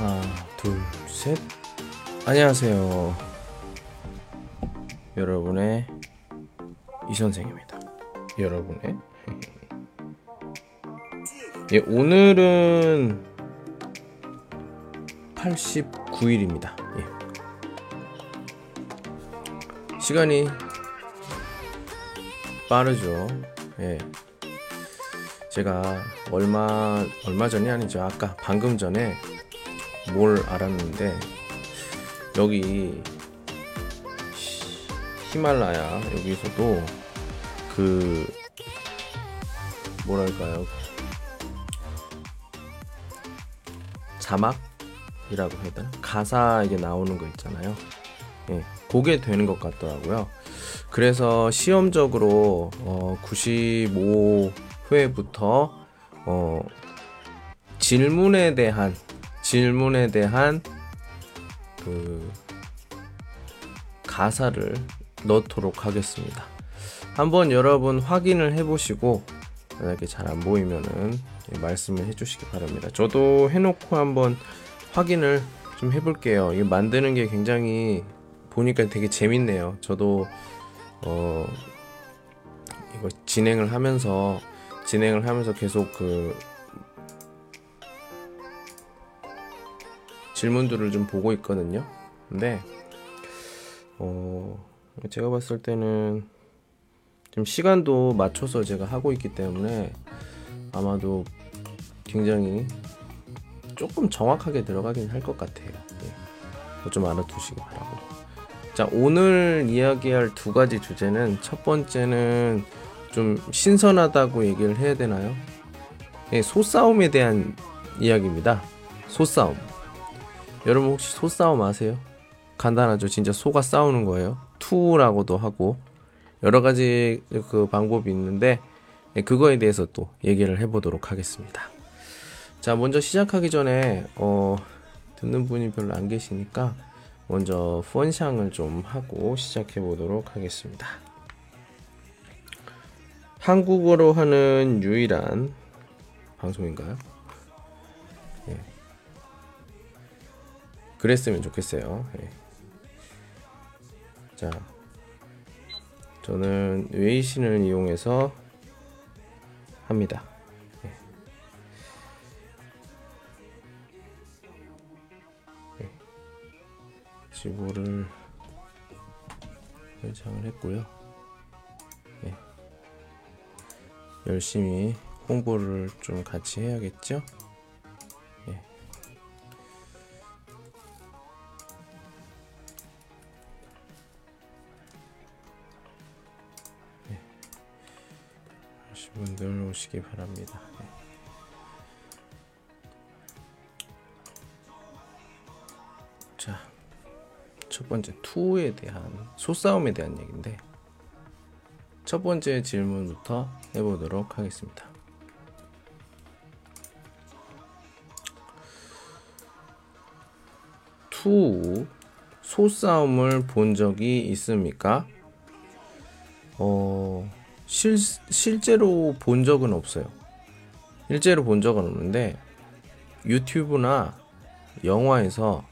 하나, 둘, 셋. 안녕하세요. 여러분의 이선생입니다. 여러분의 예, 오늘은 89일입니다. 예. 시간이 빠르죠. 예. 제가 얼마 전이 아니죠. 아까 방금 전에 뭘 알았는데, 여기 히말라야 여기서도 그 뭐랄까요, 자막이라고 해야 되나? 가사 이게 나오는 거 있잖아요. 예, 그게 되는 것 같더라고요. 그래서 시험적으로 95회부터 질문에 대한 그 가사를 넣도록 하겠습니다. 한번 여러분 확인을 해보시고, 만약에 잘 안 보이면은 말씀을 해주시기 바랍니다. 저도 해놓고 한번 확인을 좀 해볼게요. 이거 만드는 게 굉장히 보니까 되게 재밌네요. 저도 이거 진행을 하면서 계속 그 질문들을 좀 보고 있거든요. 근데 제가 봤을 때는 좀 시간도 맞춰서 제가 하고 있기 때문에 아마도 굉장히 조금 정확하게 들어가긴 할 것 같아요. 예. 좀 알아두시기 바라고. 자, 오늘 이야기할 두 가지 주제는, 첫 번째는 좀 신선하다고 얘기를 해야 되나요? 예, 소싸움에 대한 이야기입니다. 소싸움. 여러분 혹시 소싸움 아세요? 간단하죠. 진짜 소가 싸우는 거예요. 투라고도 하고 여러 가지 그 방법이 있는데, 그거에 대해서 또 얘기를 해보도록 하겠습니다. 자, 먼저 시작하기 전에 듣는 분이 별로 안 계시니까 먼저 펀샹을 좀 하고 시작해 보도록 하겠습니다. 한국어로 하는 유일한 방송인가요? 예. 그랬으면 좋겠어요. 예. 자, 저는 웨이신을 이용해서 합니다. 예. 예. 지보를 설정을 했고요. 예. 열심히 홍보를 좀 같이 해야겠죠? 예. 분들 오시기 바랍니다. 자, 첫 번째 투에 대한, 소싸움에 대한 얘기인데, 첫 번째 질문부터 해보도록 하겠습니다. 투 소싸움을 본 적이 있습니까? 실제로 본 적은 없어요. 실제로 본 적은 없는데, 유튜브나 영화에서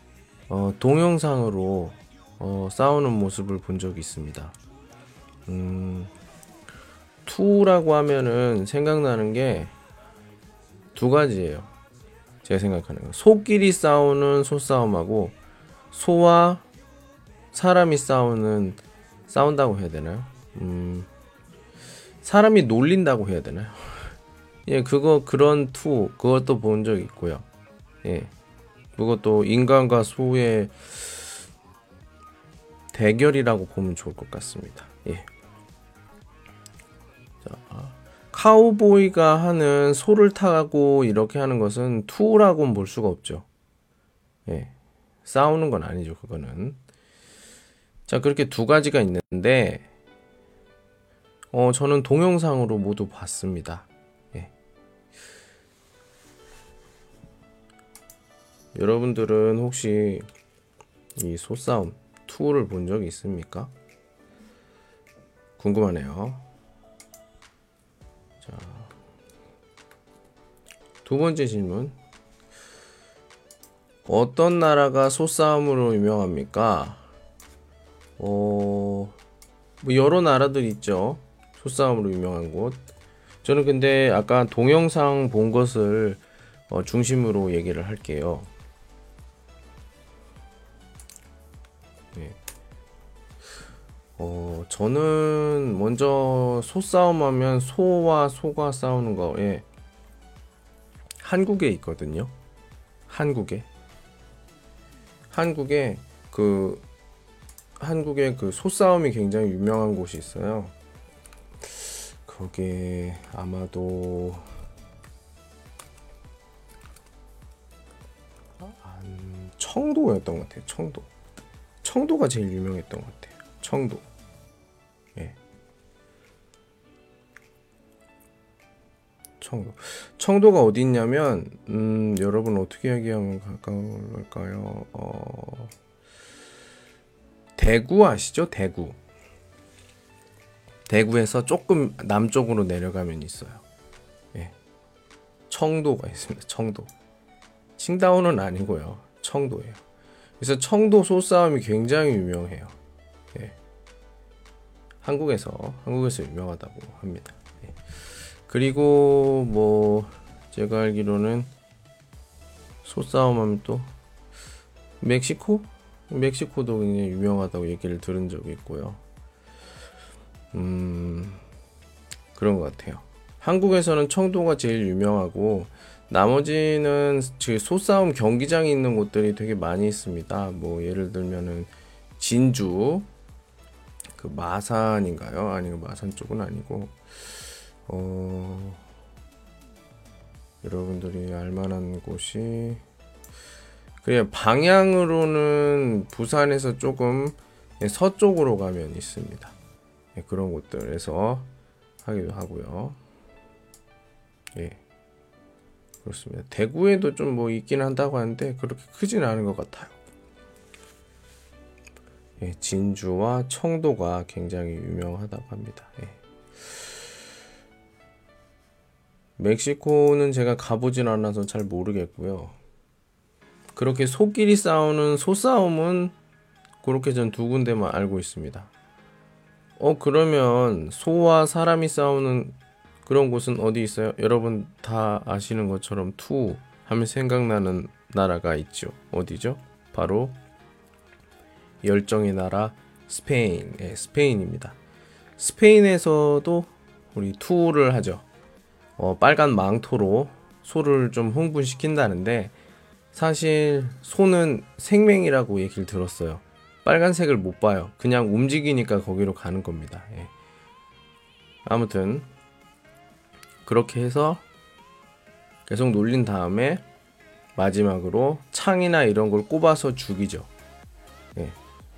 동영상으로 싸우는 모습을 본 적이 있습니다. 투라고 하면은 생각나는 게 두 가지예요. 제가 생각하는 거. 소끼리 싸우는 소싸움하고, 소와 사람이 싸운다고 해야 되나요? 사람이 놀린다고 해야 되나요? 예, 그런 투, 그것도 본 적 있고요. 예, 그것도 인간과 소의 대결이라고 보면 좋을 것 같습니다. 예. 자, 카우보이가 하는 소를 타고 이렇게 하는 것은 투라고는 볼 수가 없죠. 예, 싸우는 건 아니죠, 그거는. 자, 그렇게 두 가지가 있는데, 저는 동영상으로 모두 봤습니다. 예. 여러분들은 혹시 이 소싸움 2를 본 적이 있습니까? 궁금하네요. 자, 두 번째 질문. 어떤 나라가 소싸움으로 유명합니까? 뭐 여러 나라들 있죠. 소싸움으로 유명한 곳. 저는 근데 아까 동영상 본 것을 중심으로 얘기를 할게요. 네. 저는 먼저 소싸움 하면 소와 소가 싸우는 거에 한국에 있거든요. 한국에 그 한국에 그 소싸움이 굉장히 유명한 곳이 있어요. 그게 아마도 청도였던 것 같아요. 청도가 제일 유명했던 것 같아요. 청도. 예. 청도가 어디 있냐면 여러분 어떻게 얘기하면 가까울까요? 대구 아시죠? 대구에서 조금 남쪽으로 내려가면 있어요. 예. 청도가 있습니다. 청도. 칭다오는 아니고요. 청도예요. 그래서 청도 소싸움이 굉장히 유명해요. 예. 한국에서 유명하다고 합니다. 예. 그리고 뭐 제가 알기로는 소싸움 하면 또 멕시코도 굉장히 유명하다고 얘기를 들은 적이 있고요. 그런 것 같아요. 한국에서는 청도가 제일 유명하고 나머지는 소싸움 경기장이 있는 곳들이 되게 많이 있습니다. 뭐 예를 들면은 진주, 그 마산인가요? 아니면 마산 쪽은 아니고 여러분들이 알만한 곳이 그래 방향으로는 부산에서 조금 서쪽으로 가면 있습니다. 그런 곳들에서 하기도 하고요. 예, 그렇습니다. 대구에도 좀 뭐 있긴 한다고 하는데 그렇게 크진 않은 것 같아요. 예, 진주와 청도가 굉장히 유명하다고 합니다. 예. 멕시코는 제가 가보진 않아서 잘 모르겠고요. 그렇게 소끼리 싸우는 소싸움은 그렇게 전 두 군데만 알고 있습니다. 그러면 소와 사람이 싸우는 그런 곳은 어디 있어요? 여러분 다 아시는 것처럼 투 하면 생각나는 나라가 있죠. 어디죠? 바로 열정의 나라 스페인. 예, 스페인입니다. 스페인에서도 우리 투를 하죠. 빨간 망토로 소를 좀 흥분시킨다는데 사실 소는 생명이라고 얘기를 들었어요. 빨간색을 못 봐요. 그냥 움직이니까 거기로 가는 겁니다. 예. 아무튼 그렇게 해서 계속 놀린 다음에 마지막으로 창이나 이런 걸 꼽아서 죽이죠. 예.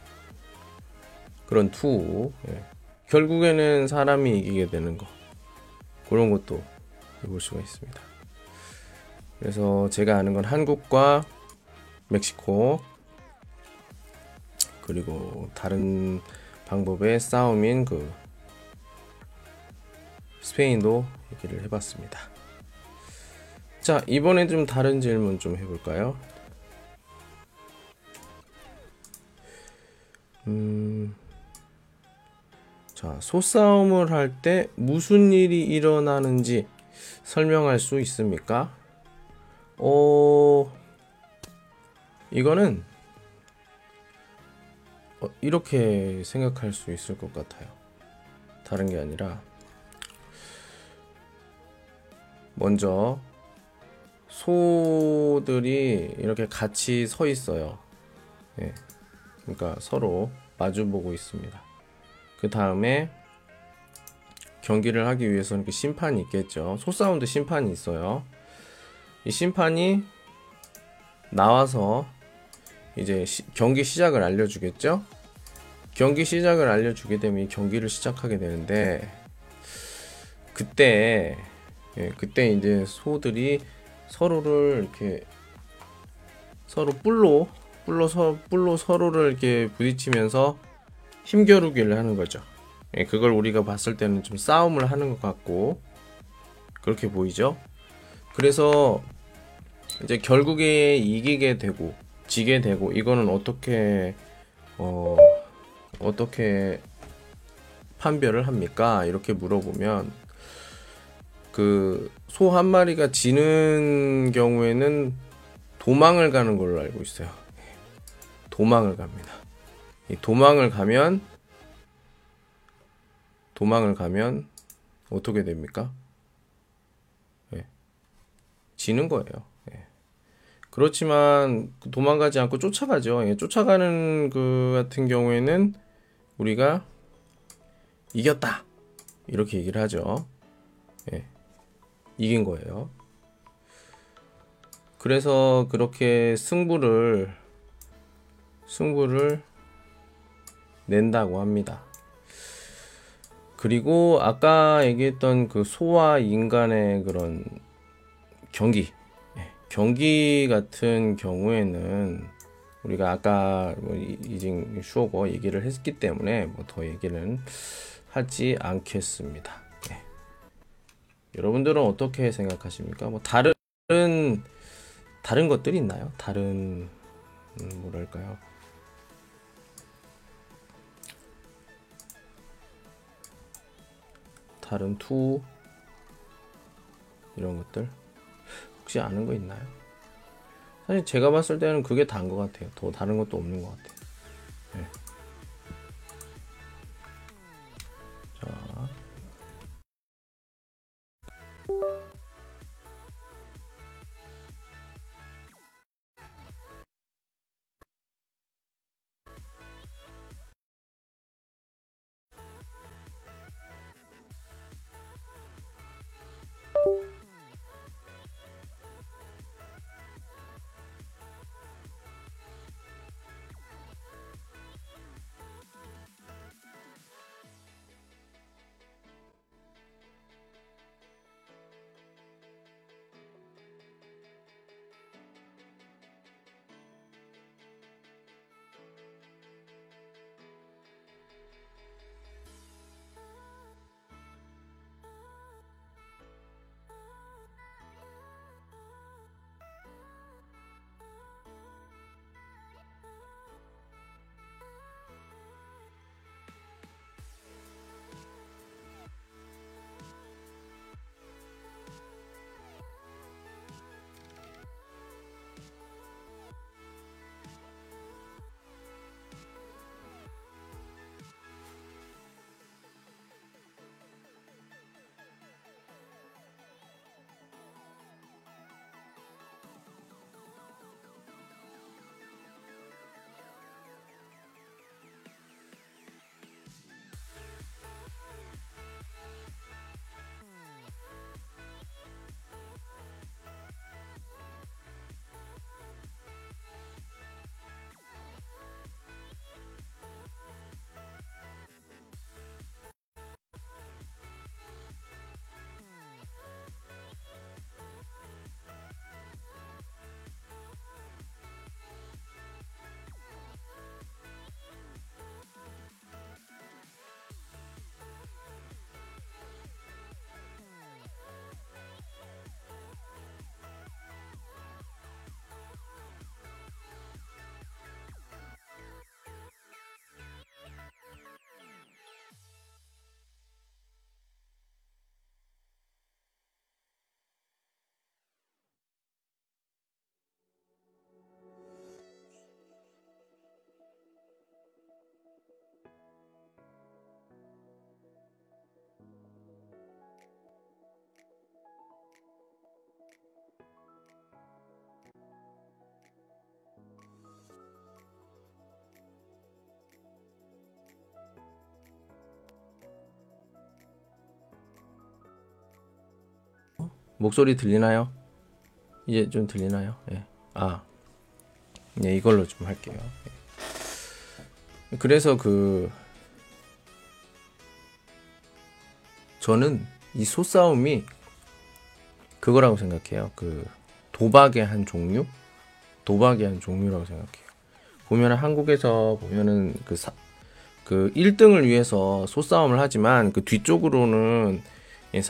그런 투. 예. 결국에는 사람이 이기게 되는 거. 그런 것도 볼 수가 있습니다. 그래서 제가 아는 건 한국과 멕시코 그리고 다른 방법의 싸움인 그 스페인도 얘기를 해봤습니다. 자, 이번에 좀 다른 질문 좀 해볼까요? 자, 소싸움을 할 때 무슨 일이 일어나는지 설명할 수 있습니까? 이거는 이렇게 생각할 수 있을 것 같아요. 다른 게 아니라 먼저 소들이 이렇게 같이 서 있어요. 예. 그러니까 서로 마주보고 있습니다. 그 다음에 경기를 하기 위해서는 심판이 있겠죠. 소싸움도 심판이 있어요. 이 심판이 나와서 이제 경기 시작을 알려주겠죠. 경기 시작을 알려주게 되면 이 경기를 시작하게 되는데 그때 이제 소들이 서로를 이렇게 서로 뿔로 서로를 이렇게 부딪히면서 힘겨루기를 하는 거죠. 그걸 우리가 봤을 때는 좀 싸움을 하는 것 같고 그렇게 보이죠. 그래서 이제 결국에 이기게 되고 지게 되고, 이거는 어떻게 판별을 합니까? 이렇게 물어보면, 그 소 한 마리가 지는 경우에는 도망을 가는 걸로 알고 있어요. 도망을 갑니다. 이 도망을 가면 어떻게 됩니까? 예, 지는 거예요. 예. 그렇지만 도망가지 않고 쫓아가죠. 예, 쫓아가는 그 같은 경우에는 우리가 이겼다 이렇게 얘기를 하죠. 예, 이긴 거예요. 그래서 그렇게 승부를 낸다고 합니다. 그리고 아까 얘기했던 그 소와 인간의 그런 경기 같은 경우에는 우리가 아까 이징 슈어거 얘기를 했기 때문에 뭐 더 얘기는 하지 않겠습니다. 네. 여러분들은 어떻게 생각하십니까? 뭐 다른 것들이 있나요? 다른 뭐랄까요? 다른 투 이런 것들 혹시 아는 거 있나요? 사실 제가 봤을 때는 그게 다인 것 같아요. 더 다른 것도 없는 것 같아요. 네. 자. 목소리 들리나요? 이제 좀 들리나요? 예. 네, 이걸로 좀 할게요. 예. 그래서 저는 이 소싸움이 그거라고 생각해요. 그 도박의 한 종류라고 생각해요. 보면은 한국에서 보면은 그 1등을 위해서 소싸움을 하지만 그 뒤쪽으로는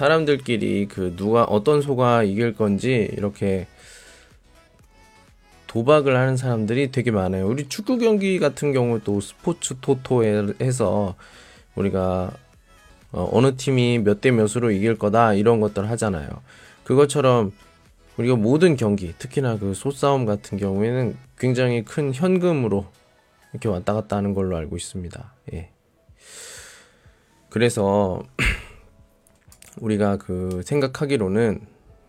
사람들끼리 그 어떤 소가 이길 건지 이렇게 도박을 하는 사람들이 되게 많아요. 우리 축구 경기 같은 경우도 스포츠 토토에서 우리가 어느 팀이 몇 대 몇으로 이길 거다 이런 것들 하잖아요. 그것처럼 우리가 모든 경기, 특히나 그 소싸움 같은 경우에는 굉장히 큰 현금으로 이렇게 왔다 갔다 하는 걸로 알고 있습니다. 예. 그래서 우리가 그 생각하기로는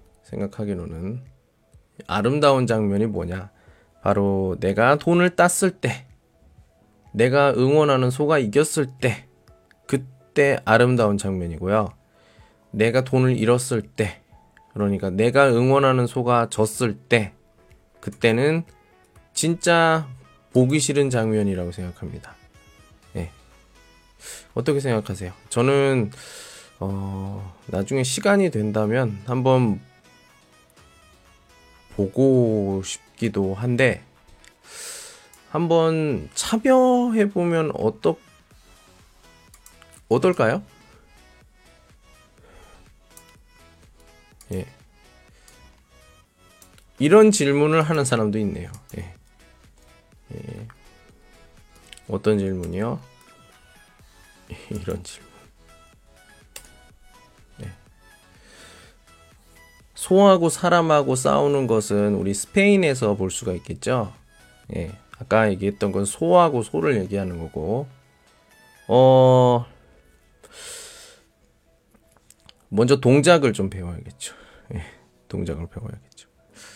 아름다운 장면이 뭐냐? 바로 내가 돈을 땄을 때, 내가 응원하는 소가 이겼을 때, 그때 아름다운 장면이고요. 내가 돈을 잃었을 때, 그러니까 내가 응원하는 소가 졌을 때, 그때는 진짜 보기 싫은 장면이라고 생각합니다. 예. 어떻게 생각하세요? 저는 나중에 시간이 된다면 한번 보고 싶기도 한데 한번 참여해보면 어떨까요? 예. 이런 질문을 하는 사람도 있네요. 예. 예. 어떤 질문이요? 이런 질문. 예. 소하고 사람하고 싸우는 것은 우리 스페인에서 볼 수가 있겠죠. 예. 아까 얘기했던 건 소하고 소를 얘기하는 거고, 먼저 동작을 좀 배워야겠죠. 예. 동작을 배워야겠죠.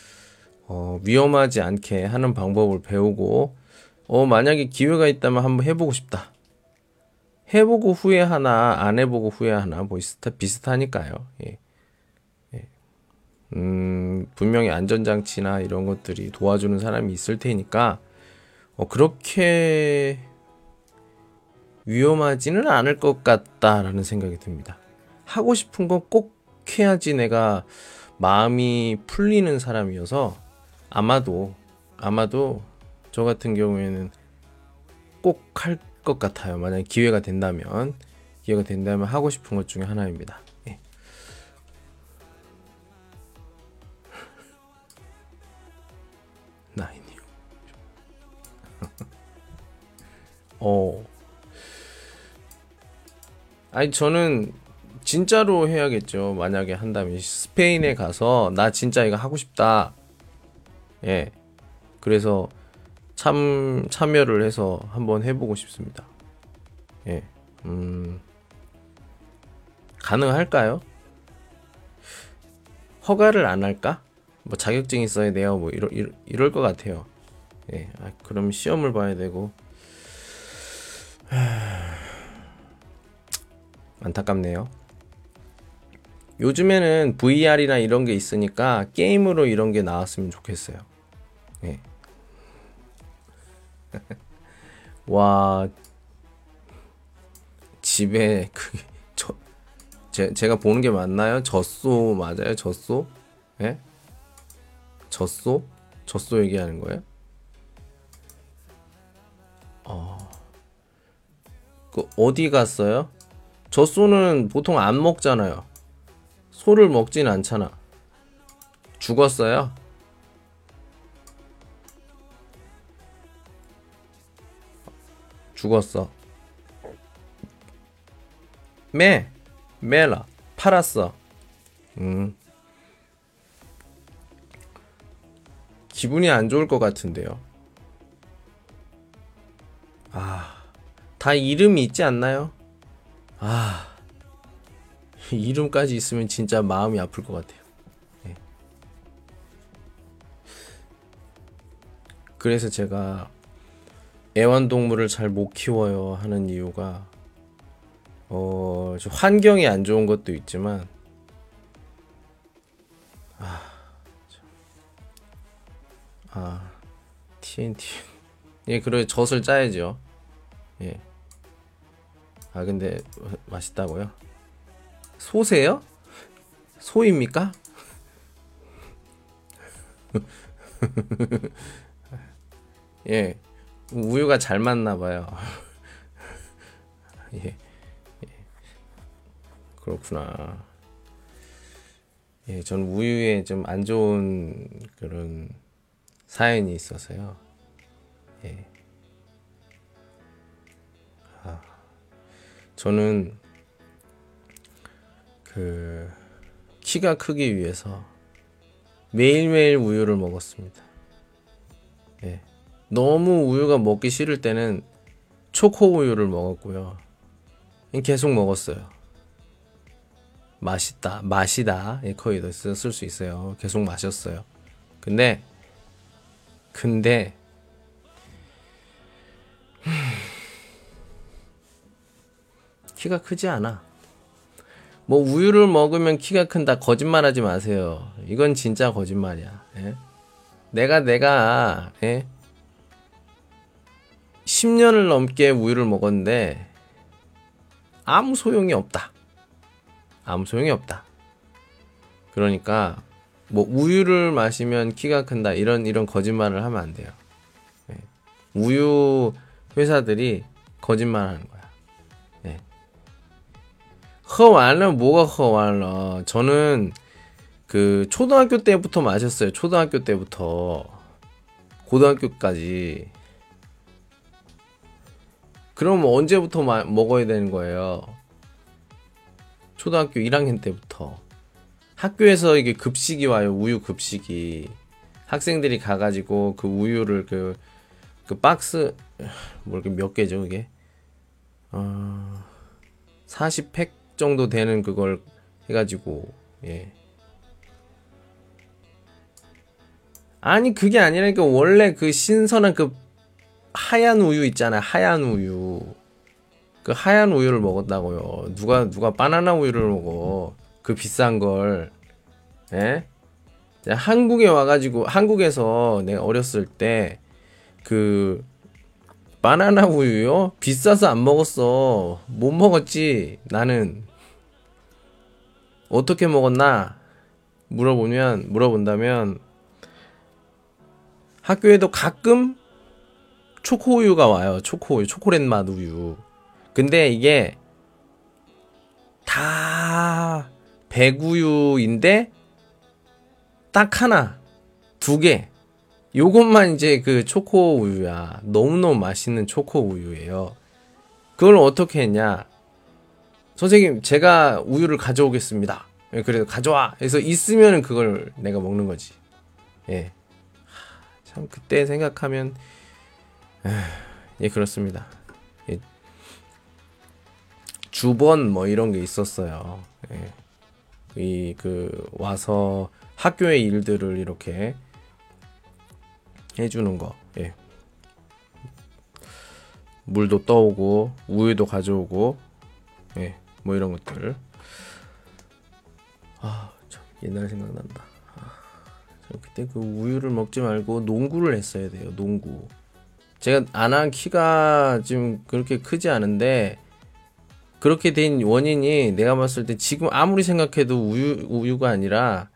위험하지 않게 하는 방법을 배우고, 만약에 기회가 있다면 한번 해보고 싶다. 해보고 후회하나, 안 해보고 후회하나, 뭐 비슷하니까요. 예. 예. 분명히 안전장치나 이런 것들이 도와주는 사람이 있을 테니까, 그렇게 위험하지는 않을 것 같다라는 생각이 듭니다. 하고 싶은 건 꼭 해야지 내가 마음이 풀리는 사람이어서 아마도 저 같은 경우에는 꼭 할 것 같아요. 만약에 기회가 된다면 하고 싶은 것 중에 하나입니다. 예. 나인이요. 아니 저는 진짜로 해야겠죠. 만약에 한다면 스페인에 가서 나 진짜 이거 하고 싶다. 예. 그래서 참여를 해서 한번 해보고 싶습니다. 예. 가능할까요? 허가를 안 할까? 뭐 자격증 있어야 돼요. 뭐 이럴 것 같아요. 예. 그럼 시험을 봐야 되고. 안타깝네요. 요즘에는 VR이나 이런 게 있으니까 게임으로 이런 게 나왔으면 좋겠어요. 예. 와, 집에 제가 보는 게 맞나요? 젖소 맞아요? 젖소? 예? 젖소? 젖소 얘기하는 거예요? 어디 갔어요? 젖소는 보통 안 먹잖아요. 소를 먹진 않잖아. 죽었어요? 죽었어. 매라 팔았어. 기분이 안 좋을 것 같은데요. 다 이름이 있지 않나요? 이름까지 있으면 진짜 마음이 아플 것 같아요. 네. 그래서 제가 애완동물을 잘 못 키워요 하는 이유가 환경이 안 좋은 것도 있지만 TNT 예, 그래 젖을 짜야죠. 예. 근데 맛있다고요? 소세요? 소입니까? 예. 우유가 잘 맞나 봐요. 예. 그렇구나. 예, 전 우유에 좀 안 좋은 그런 사연이 있어서요. 예. 저는 그 키가 크기 위해서 매일매일 우유를 먹었습니다. 예. 너무 우유가 먹기 싫을 때는 초코 우유를 먹었고요. 계속 먹었어요. 마시다. 예, 거의 쓸 수 있어요. 계속 마셨어요. 근데 키가 크지 않아. 뭐 우유를 먹으면 키가 큰다 거짓말하지 마세요. 이건 진짜 거짓말이야. 예? 내가 예? 10년을 넘게 우유를 먹었는데 아무 소용이 없다. 그러니까 뭐 우유를 마시면 키가 큰다 이런 거짓말을 하면 안 돼요. 예. 우유 회사들이 거짓말하는 거야. 예. 喝完了 뭐가 喝完了? 저는 그 초등학교 때부터 마셨어요. 초등학교 때부터 고등학교까지. 그럼 언제부터 먹어야 되는 거예요? 초등학교 1학년 때부터. 학교에서 이게 급식이 와요. 우유 급식이. 학생들이 가가지고 그 우유를 그 박스 뭐 이렇게 몇 개죠 그게? 40팩 정도 되는 그걸 해가지고 예. 아니 그게 아니라니까. 원래 그 신선한 그 하얀 우유 있잖아요. 하얀 우유. 그 하얀 우유를 먹었다고요. 누가 바나나 우유를 먹어. 그 비싼 걸. 예? 한국에 와가지고 한국에서 내가 어렸을 때 그 바나나 우유요? 비싸서 안 먹었어. 못 먹었지. 나는 어떻게 먹었나 물어본다면 학교에도 가끔 초코 우유가 와요. 초코 우유, 초콜릿 맛 우유. 근데 이게 다 백우유인데 딱 하나, 두 개. 요것만 이제 그 초코 우유야. 너무너무 맛있는 초코 우유예요. 그걸 어떻게 했냐? 선생님, 제가 우유를 가져오겠습니다. 그래서 가져와. 그래서 있으면 그걸 내가 먹는 거지. 예. 참 그때 생각하면 예, 그렇습니다. 예. 주번 뭐 이런 게 있었어요. 예. 와서 학교의 일들을 이렇게 해주는 거. 예. 물도 떠오고 우유도 가져오고 예. 뭐 이런 것들. 참 옛날 생각난다. 그때 그 우유를 먹지 말고 농구를 했어야 돼요. 농구. 제가 안 한 키가 지금 그렇게 크지 않은데 그렇게 된 원인이 내가 봤을 때 지금 아무리 생각해도 우유가 아니라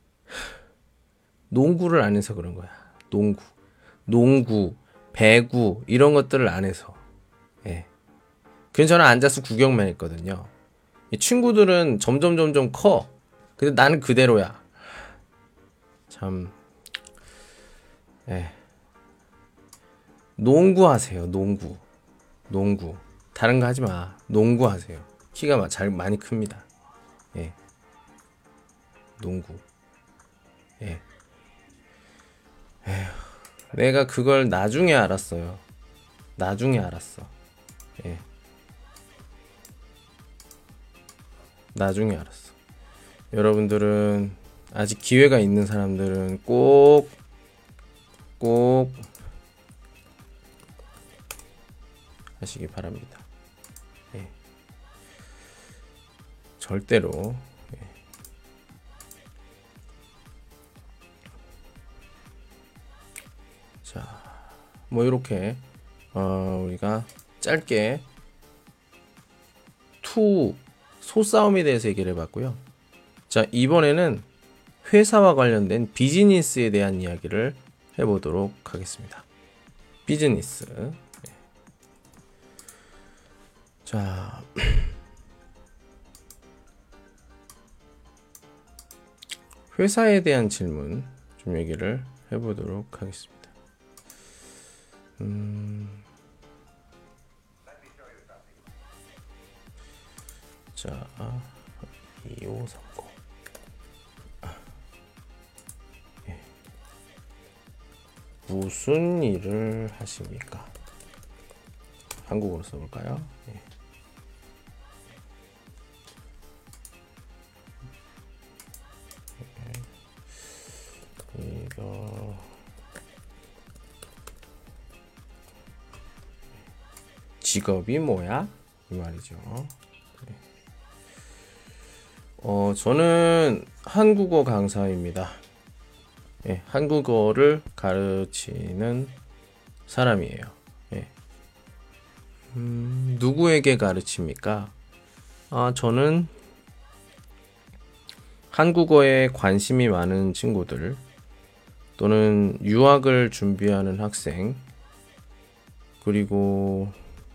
농구를 안 해서 그런 거야. 농구, 배구 이런 것들을 안 해서. 예. 그래서 저는 앉아서 구경만 했거든요. 이 친구들은 점점 커. 근데 나는 그대로야. 참. 예. 농구 하세요. 농구. 다른 거 하지 마. 농구 하세요. 키가 많이 큽니다. 예. 농구. 예. 에휴, 내가 그걸 나중에 알았어요. 예. 나중에 알았어. 여러분들은 아직 기회가 있는 사람들은 꼭 하시기 바랍니다. 예. 절대로. 예. 자, 뭐 이렇게 우리가 짧게 소싸움에 대해서 얘기를 해봤고요. 자, 이번에는 회사와 관련된 비즈니스에 대한 이야기를 해보도록 하겠습니다. 비즈니스. 네. 자, 회사에 대한 질문 좀 얘기를 해보도록 하겠습니다. 자, 2530. 예. 무슨 일을 하십니까? 한국어로 써볼까요? 예. 이거 직업이 뭐야? 이 말이죠. 네. 저는 한국어 강사입니다. 예, 한국어를 가르치는 사람이에요. 예. 누구에게 가르칩니까? 저는 한국어에 관심이 많은 친구들, 또는 유학을 준비하는 학생, 그리고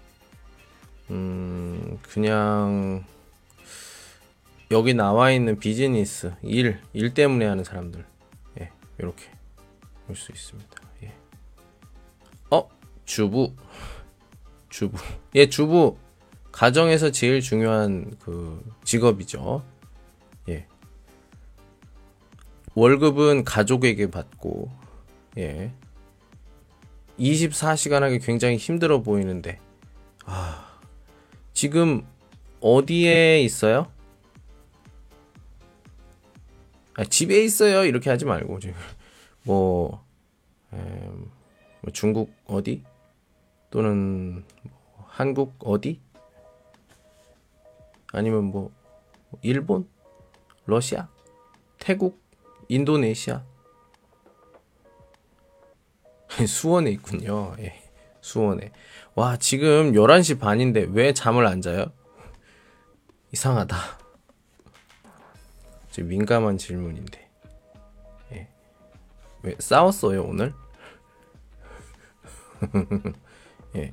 그냥 여기 나와 있는 비즈니스, 일 때문에 하는 사람들, 예, 이렇게 볼 수 있습니다. 예. 주부, 예, 주부 가정에서 제일 중요한 그 직업이죠. 예. 월급은 가족에게 받고, 예. 24시간 하기 굉장히 힘들어 보이는데, 지금 어디에 있어요? 집에 있어요. 이렇게 하지 말고, 지금 뭐 중국 어디? 또는 한국 어디? 아니면 뭐 일본? 러시아? 태국? 인도네시아? 수원에 있군요. 예, 수원에. 와, 지금 11시 반인데 왜 잠을 안 자요? 이상하다. 민감한 질문인데. 예. 왜 싸웠어요, 오늘? 예.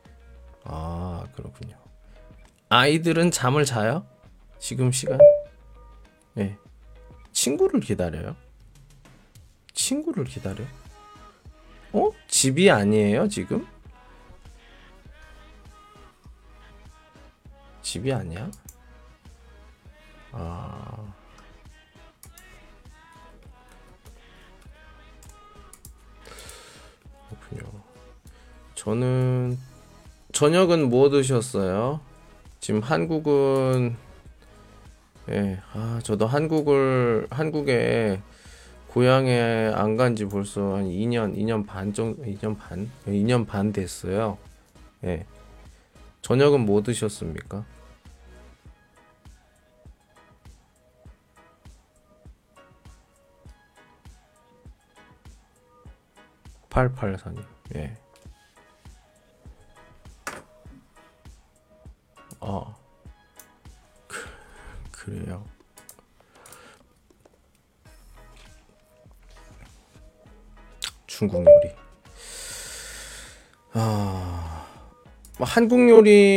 그렇군요. 아이들은 잠을 자요? 지금 시간? 예. 친구를 기다려요? 친구를 기다려? 집이 아니에요, 지금? 집이 아니야? 그렇군요. 저는 저녁은 뭐 드셨어요? 지금 한국은 예, 저도 한국에 고향에 안 간지 벌써 한 2년 반 정도, 2년 반 됐어요. 예. 저녁은 뭐 드셨습니까? 884님. 예. 그래요. 중국 요리. 한국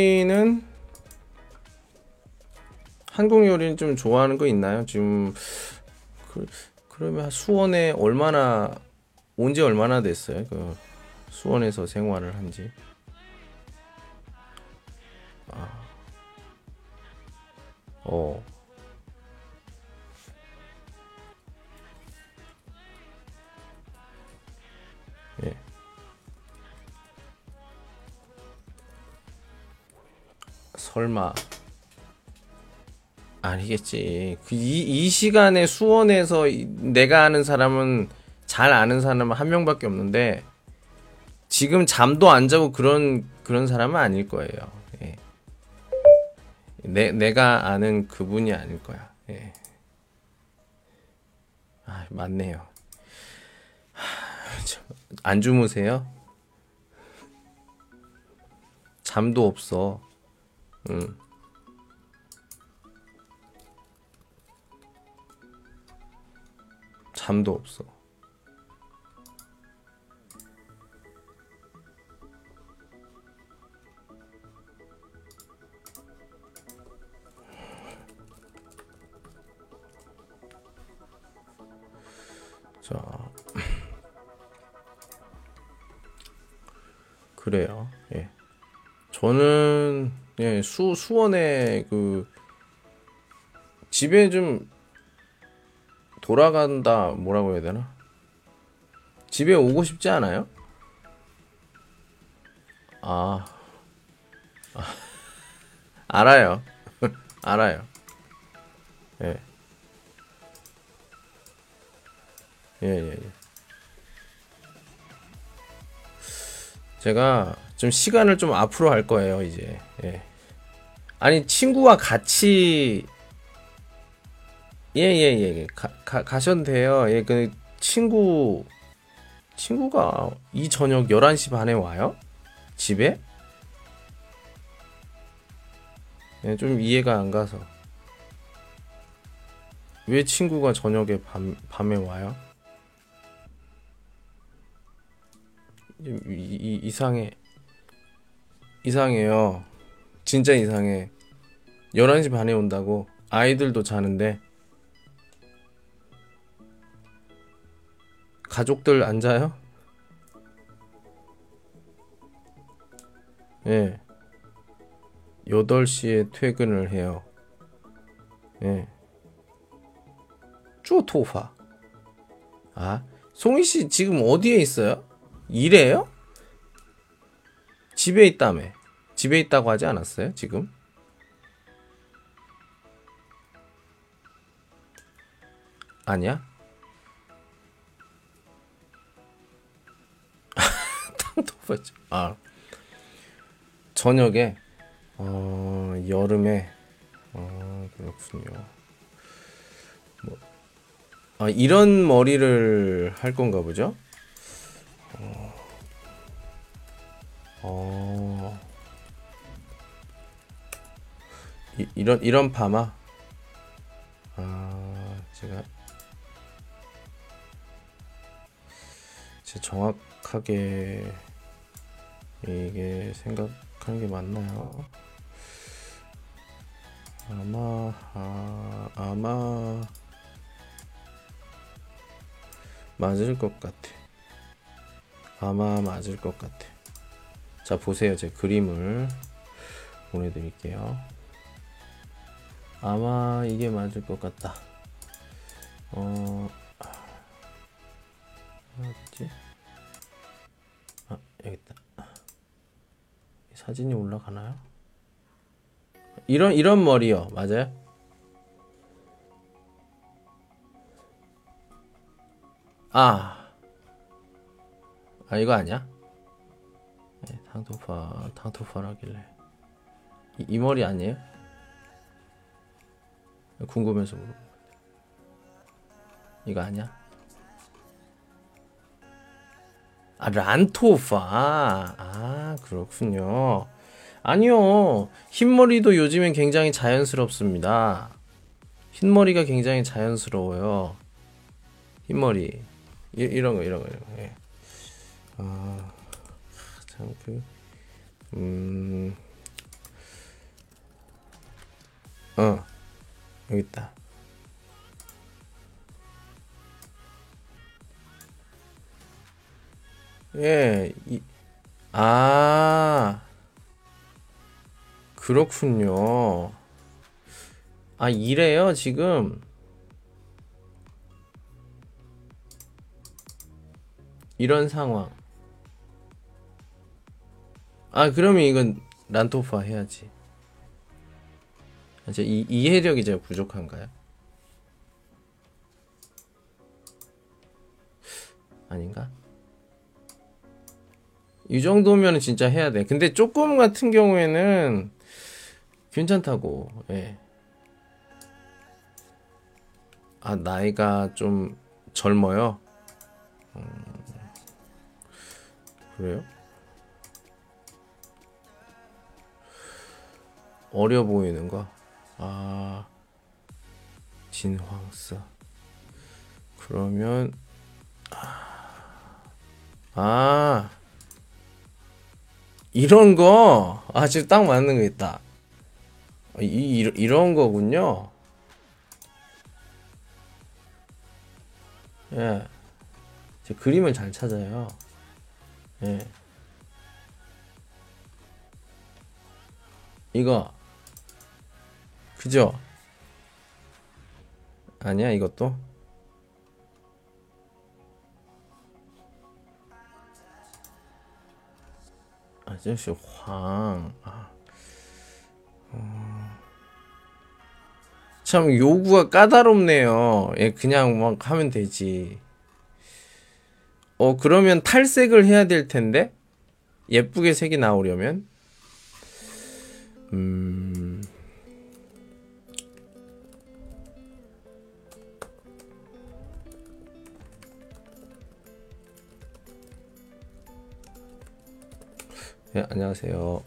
요리는 좀 좋아하는 거 있나요? 지금 그러면 수원에 온 지 얼마나 됐어요? 그 수원에서 생활을 한지. 예. 설마 아니겠지. 이 시간에 수원에서 내가 아는 사람은, 잘 아는 사람은 한 명밖에 없는데 지금 잠도 안 자고 그런 사람은 아닐 거예요. 예. 내가 아는 그분이 아닐 거야. 예. 맞네요. 안 주무세요? 잠도 없어. 잠도 없어. 자, 그래요. 예. 저는 예, 수원에 그 집에 좀 돌아간다 뭐라고 해야 되나? 집에 오고 싶지 않아요? 아, 알아요. 알아요. 예. 예, 예, 예. 제가 좀 시간을 좀 앞으로 할 거예요, 이제. 예. 아니, 친구와 같이 예, 예, 예. 예. 가셔도 돼요. 예, 그 친구가 이 저녁 11시 반에 와요? 집에? 예, 좀 이해가 안 가서. 왜 친구가 저녁에 밤에 와요? 이상해. 이상해요. 진짜 이상해. 11시 반에 온다고. 아이들도 자는데. 가족들 안 자요? 예. 8시에 퇴근을 해요. 예. 쪼토파. 아, 송이 씨 지금 어디에 있어요? 일해요? 집에 있다며. 집에 있다고 하지 않았어요, 지금? 아니야? 땅토파죠. 아, 저녁에, 여름에, 그렇군요. 아, 이런 머리를 할 건가 보죠? 어, 이런 파마? 제가 정확하게 이게 생각하는 게 맞나요? 아마 맞을 것 같아. 아마 맞을 것 같아. 자, 보세요. 제 그림을 보내드릴게요. 아마 이게 맞을 것 같다. 어딨지? 아, 여기 있다. 사진이 올라가나요? 이런 머리요. 맞아요? 이거 아니야? 네, 탕토파라길래. 이 머리 아니에요? 궁금해서 물어. 이거 아니야? 란토파. 그렇군요. 아니요. 흰머리도 요즘엔 굉장히 자연스럽습니다. 흰머리가 굉장히 자연스러워요. 흰머리. 이런 거. 예. 참, 여기 있다. 예, 그렇군요. 이래요, 지금. 이런 상황. 그러면 이건 란토파 해야지. 이해력이 제가 부족한가요? 아닌가? 이 정도면 진짜 해야 돼. 근데 조금 같은 경우에는 괜찮다고. 예. 나이가 좀 젊어요. 그래요? 어려 보이는 거. 진황스. 그러면 이런 거. 지금 딱 맞는 거 있다. 이런 거군요. 예. 제 그림을 잘 찾아요. 예. 이거 그죠? 아니야 이것도? 아저씨 황. 참 요구가 까다롭네요. 예, 그냥 막 하면 되지. 그러면 탈색을 해야 될 텐데 예쁘게 색이 나오려면 예, 안녕하세요.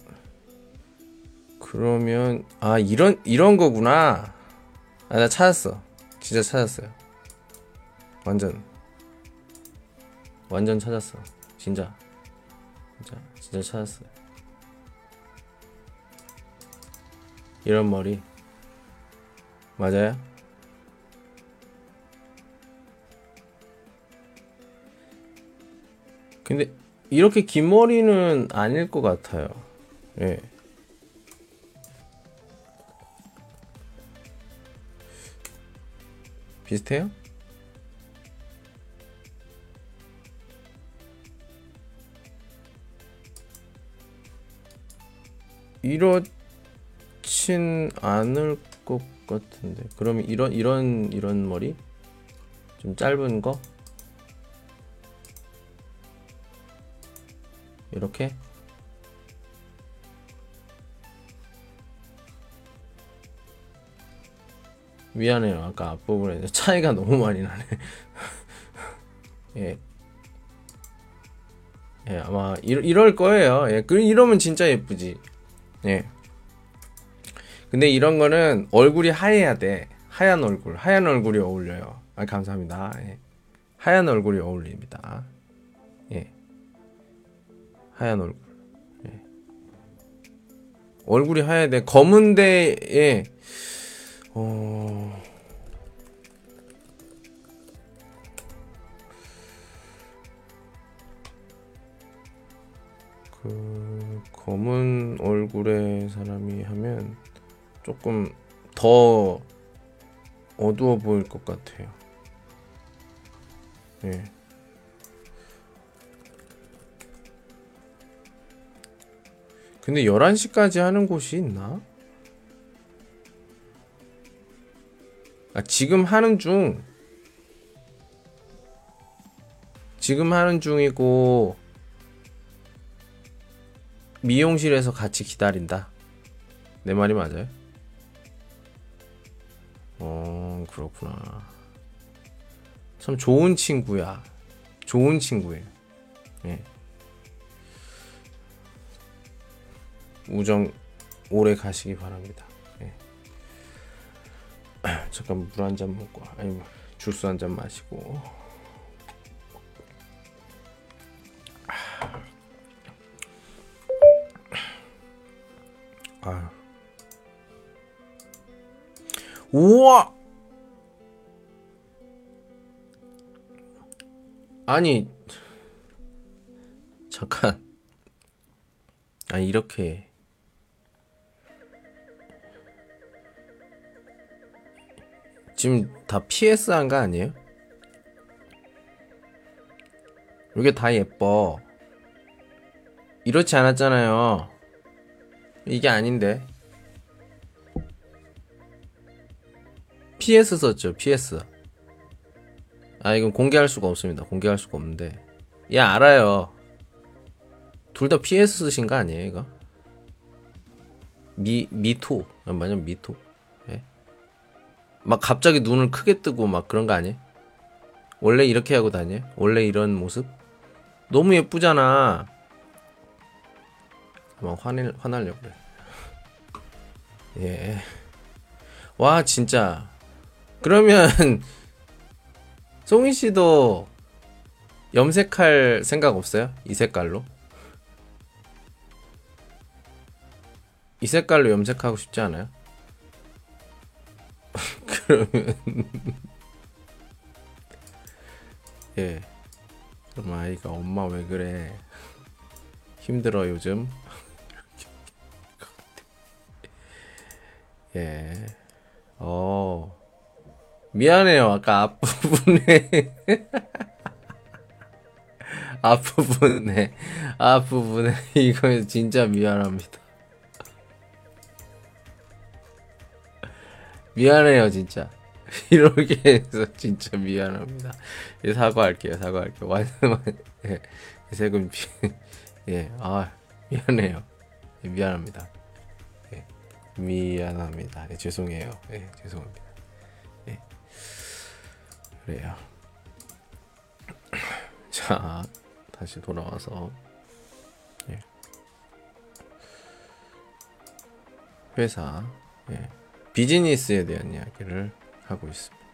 그러면 이런 거구나. 나 찾았어. 진짜 찾았어요. 완전 찾았어. 진짜 찾았어요. 이런 머리 맞아요? 근데 이렇게 긴 머리는 아닐 것 같아요. 예. 비슷해요? 이렇진 않을 것 같은데. 그러면 이런 머리? 좀 짧은 거? 이렇게? 미안해요. 아까 앞부분에 차이가 너무 많이 나네. 예. 예, 아마 이럴 거예요. 예, 이러면 진짜 예쁘지. 예. 근데 이런 거는 얼굴이 하얘야 돼. 하얀 얼굴이 어울려요. 감사합니다. 예. 하얀 얼굴이 어울립니다. 예. 하얀 얼굴. 예. 얼굴이 하얘야 돼. 검은데에 검은 얼굴의 사람이 하면 조금 더 어두워 보일 것 같아요. 예. 근데 11시까지 하는 곳이 있나? 지금 하는 중이고 미용실에서 같이 기다린다. 내 말이 맞아요? 그렇구나. 참 좋은 친구야. 좋은 친구예요. 예. 우정 오래 가시기 바랍니다. 예. 잠깐 물 한 잔 먹고, 주스 한 잔 마시고. 우와! 아니, 잠깐. 이렇게. 지금 다 PS 한 거 아니에요? 이게 다 예뻐. 이렇지 않았잖아요. 이게 아닌데. PS 썼죠, PS. 이건 공개할 수가 없습니다. 공개할 수가 없는데. 알아요. 둘 다 PS 쓰신 거 아니에요, 이거? 미토. 맞으면 미토. 예? 막 갑자기 눈을 크게 뜨고 막 그런 거 아니에요? 원래 이렇게 하고 다녀요? 원래 이런 모습? 너무 예쁘잖아. 막 화나려고 그래. 예. 와, 진짜. 그러면 송이 씨도 염색할 생각 없어요? 이 색깔로? 이 색깔로 염색하고 싶지 않아요? 그러면 예. 그럼 아이가 엄마 왜 그래? 힘들어 요즘? 예. 미안해요. 아까 앞부분에 앞부분에 이거 진짜 미안합니다. 미안해요, 진짜. 이렇게 해서 진짜 미안합니다. 예, 사과할게요. 완전 예, 세금 예, 미안해요. 예, 미안합니다. 예, 미안합니다. 예, 죄송해요. 예, 죄송합니다. 예, 그래요. 자, 다시 돌아와서 예, 회사 예, 비즈니스에 대한 이야기를 하고 있습니다.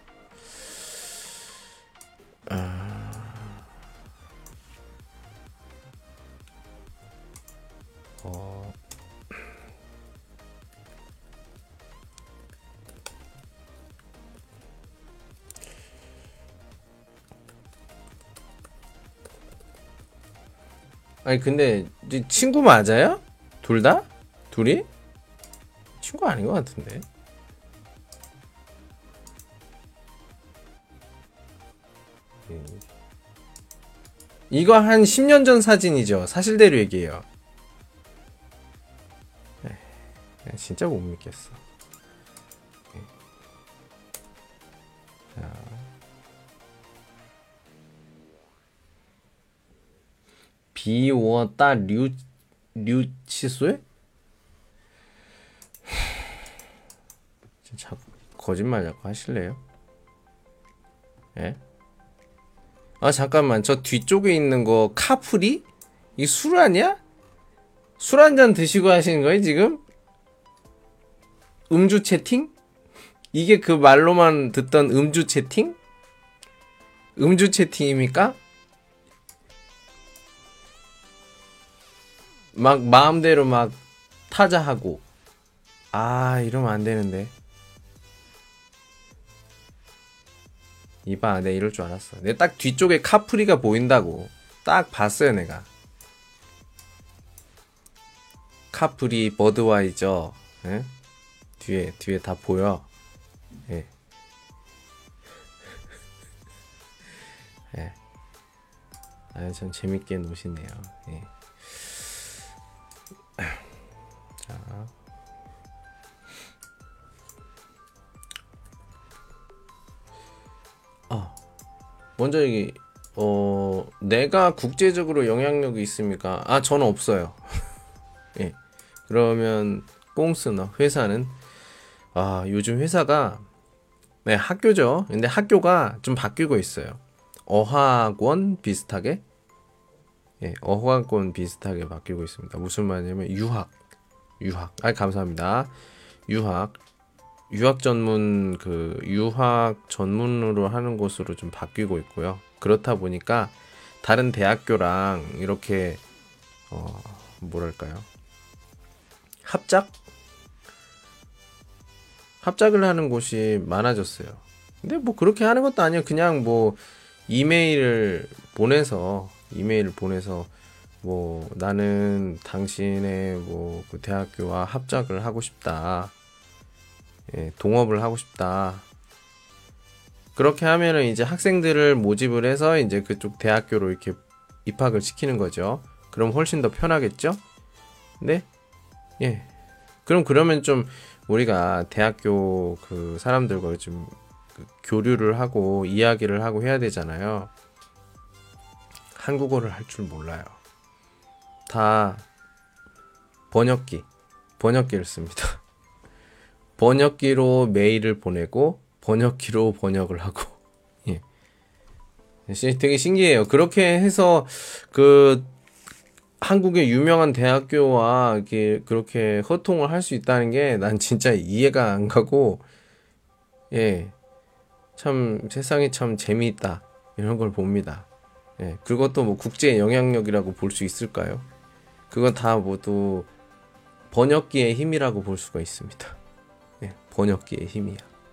아니 근데 친구 맞아요? 둘 다? 둘이? 친구 아닌 것 같은데. 이거 한 10년 전 사진이죠. 사실대로 얘기해요. 진짜 못 믿겠어. 자. 비워다 류치수에? 자꾸 거짓말 자꾸 하실래요? 예? 잠깐만, 저 뒤쪽에 있는 거 카프리? 이 술 아니야? 술 한 잔 드시고 하시는 거예요 지금? 음주 채팅? 이게 그 말로만 듣던 음주 채팅? 음주 채팅입니까? 막 마음대로 막 타자하고. 이러면 안 되는데. 이봐, 내가 이럴 줄 알았어. 내가 딱 뒤쪽에 카프리가 보인다고 딱 봤어요 내가. 카프리, 버드와이저, 예? 뒤에 다 보여. 예. 예. 참 재밌게 노시네요. 예. 자. 먼저 여기 내가 국제적으로 영향력이 있습니까? 저는 없어요. 예. 그러면 꽁스너 회사는 요즘 회사가 네, 학교죠. 근데 학교가 좀 바뀌고 있어요. 어학원 비슷하게 어학원 비슷하게 바뀌고 있습니다. 무슨 말이냐면 유학. 감사합니다. 유학 전문 유학 전문으로 하는 곳으로 좀 바뀌고 있고요. 그렇다 보니까 다른 대학교랑 이렇게 뭐랄까요? 합작을 하는 곳이 많아졌어요. 근데 뭐 그렇게 하는 것도 아니에요. 그냥 뭐 이메일을 보내서 뭐 나는 당신의 뭐 그 대학교와 합작을 하고 싶다. 예, 동업을 하고 싶다. 그렇게 하면은 이제 학생들을 모집을 해서 이제 그쪽 대학교로 이렇게 입학을 시키는 거죠. 그럼 훨씬 더 편하겠죠? 네? 예. 그러면 좀 우리가 대학교 그 사람들과 좀 교류를 하고 이야기를 하고 해야 되잖아요. 한국어를 할 줄 몰라요. 다 번역기를 씁니다. 번역기로 메일을 보내고 번역기로 번역을 하고. 예. 되게 신기해요. 그렇게 해서 그 한국의 유명한 대학교와 이렇게 그렇게 소통을 할 수 있다는 게 난 진짜 이해가 안 가고, 예, 참 세상이 참 재미있다 이런 걸 봅니다. 예, 그것도 뭐 국제 영향력이라고 볼 수 있을까요? 그건 다 모두 번역기의 힘이라고 볼 수가 있습니다. 예, 번역기의 힘이야.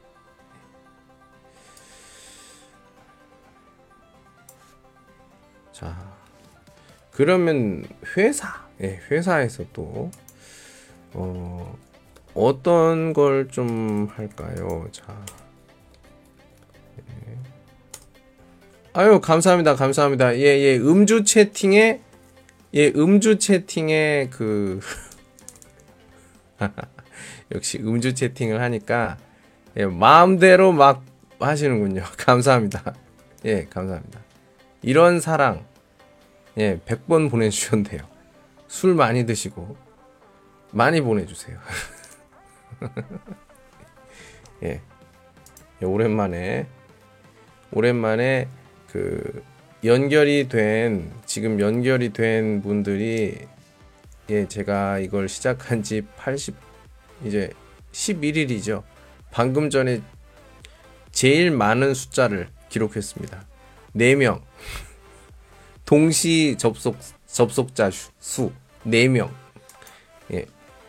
자, 그러면 회사에서 또 어떤 걸 좀 할까요? 자. 아유, 감사합니다. 감사합니다. 예, 예. 음주 채팅에 그 역시 음주 채팅을 하니까 예, 마음대로 막 하시는군요. 감사합니다. 예, 감사합니다. 이런 사랑 예, 100번 보내주셔도 돼요. 술 많이 드시고 많이 보내주세요. 예, 예, 오랜만에 그 지금 연결이 된 분들이 예, 제가 이걸 시작한 지 이제 11일이죠. 방금 전에 제일 많은 숫자를 기록했습니다. 4명. 동시 접속자 수 4명. 예.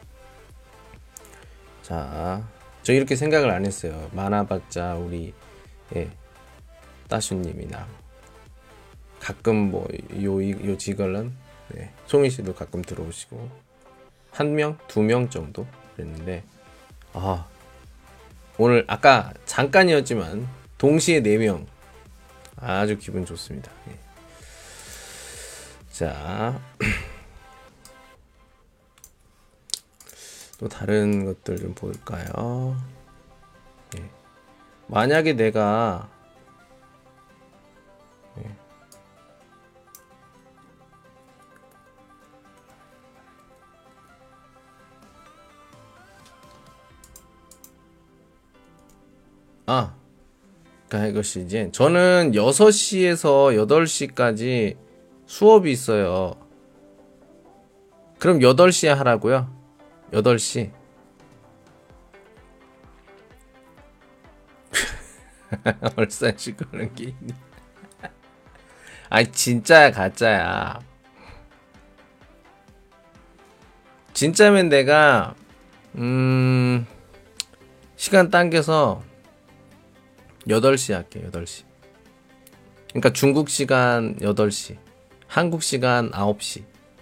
자, 저 이렇게 생각을 안 했어요. 많아봤자 우리 예, 따슈님이나 가끔 뭐 요 지걸런 네, 송희 씨도 가끔 들어오시고 1명, 2명 정도 그랬는데 아 오늘 아까 잠깐이었지만 동시에 4명 아주 기분 좋습니다. 예. 자, 또 다른 것들 좀 볼까요? 예. 만약에 내가 예. 그러니까 이것이 이제 저는 6시에서 8시까지 수업이 있어요. 그럼 8시에 하라고요? 8시. 얼싸시 그런 게 있네. 아니 진짜야 가짜야. 진짜면 내가 시간 당겨서 8시 할게. 8시. 그러니까 중국 시간 8시, 한국 시간 9시.